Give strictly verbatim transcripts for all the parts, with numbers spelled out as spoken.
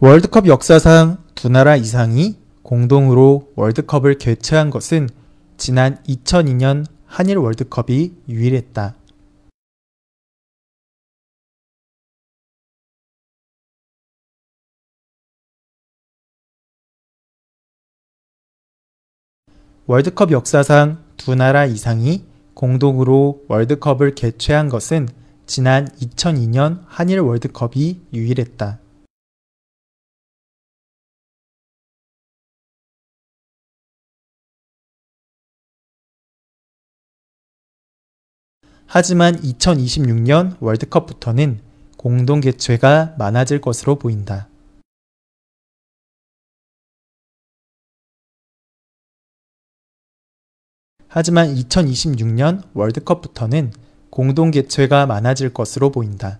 월드컵 역사상 두 나라 이상이 공동으로 월드컵을 개최한 것은 지난 이천이 년 한일 월드컵이 유일했다. 월드컵 역사상 두 나라 이상이 공동으로 월드컵을 개최한 것은 지난 이천이 년 한일 월드컵이 유일했다. 하지만 이천이십육 년 월드컵부터는 공동 개최가 많아질 것으로 보인다. 하지만 이천이십육 년 월드컵부터는 공동 개최가 많아질 것으로 보인다.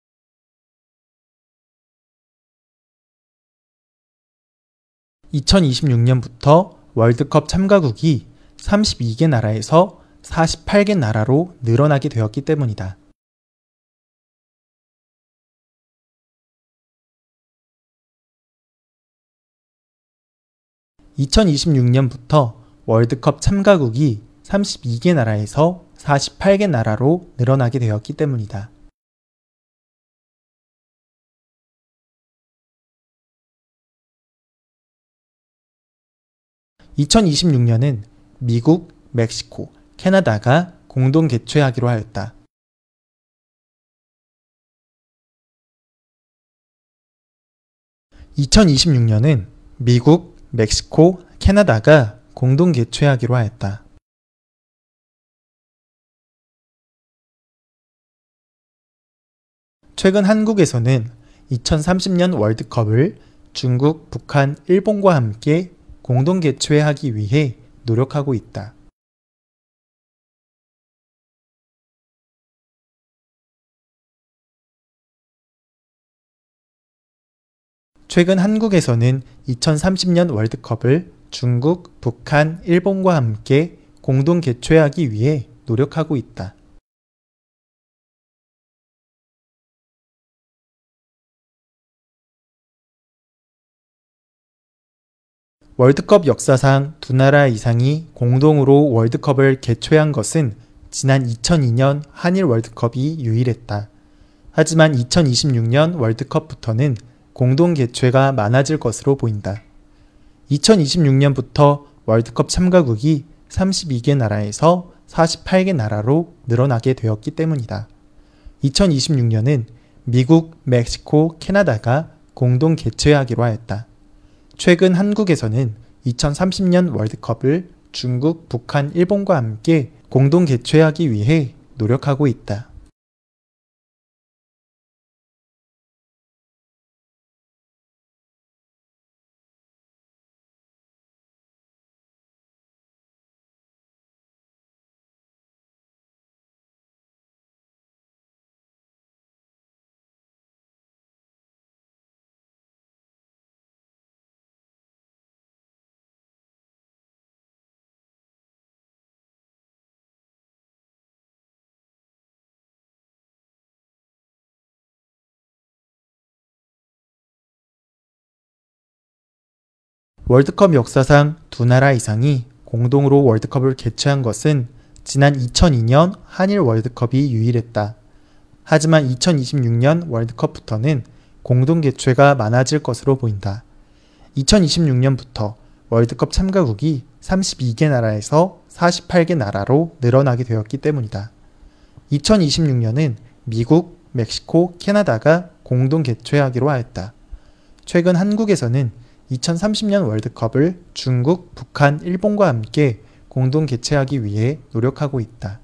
이천이십육 년부터 월드컵 참가국이 삼십이 개 나라에서 사십팔 개 나라로 늘어나게 되었기 때문이다. 이천이십육 년부터 월드컵 참가국이 삼십이 개 나라에서 사십팔 개 나라로 늘어나게 되었기 때문이다. 이천이십육 년은 미국, 멕시코, 캐나다가 공동 개최하기로 하였다. 이천이십육 년은 미국, 멕시코, 캐나다가 공동 개최하기로 하였다. 최근 한국에서는 이천삼십 년 월드컵을 중국, 북한, 일본과 함께 공동 개최하기 위해 노력하고 있다. 최근 한국에서는 이천삼십 년 월드컵을 중국, 북한, 일본과 함께 공동 개최하기 위해 노력하고 있다. 월드컵 역사상 두 나라 이상이 공동으로 월드컵을 개최한 것은 지난 이천이 년 한일 월드컵이 유일했다. 하지만 이천이십육 년 월드컵부터는 공동 개최가 많아질 것으로 보인다. 이천이십육 년부터 월드컵 참가국이 삼십이 개 나라에서 사십팔 개 나라로 늘어나게 되었기 때문이다. 이천이십육 년은 미국, 멕시코, 캐나다가 공동 개최하기로 하였다. 최근 한국에서는 이천삼십 년 월드컵을 중국, 북한, 일본과 함께 공동 개최하기 위해 노력하고 있다. 월드컵 역사상 두 나라 이상이 공동으로 월드컵을 개최한 것은 지난 이천이 년 한일 월드컵이 유일했다. 하지만 이천이십육 년 월드컵부터는 공동 개최가 많아질 것으로 보인다. 이천이십육 년부터 월드컵 참가국이 삼십이 개 나라에서 사십팔 개 나라로 늘어나게 되었기 때문이다. 이천이십육 년은 미국, 멕시코, 캐나다가 공동 개최하기로 하였다. 최근 한국에서는 이천삼십 년 월드컵을 중국, 북한, 일본과 함께 공동 개최하기 위해 노력하고 있다.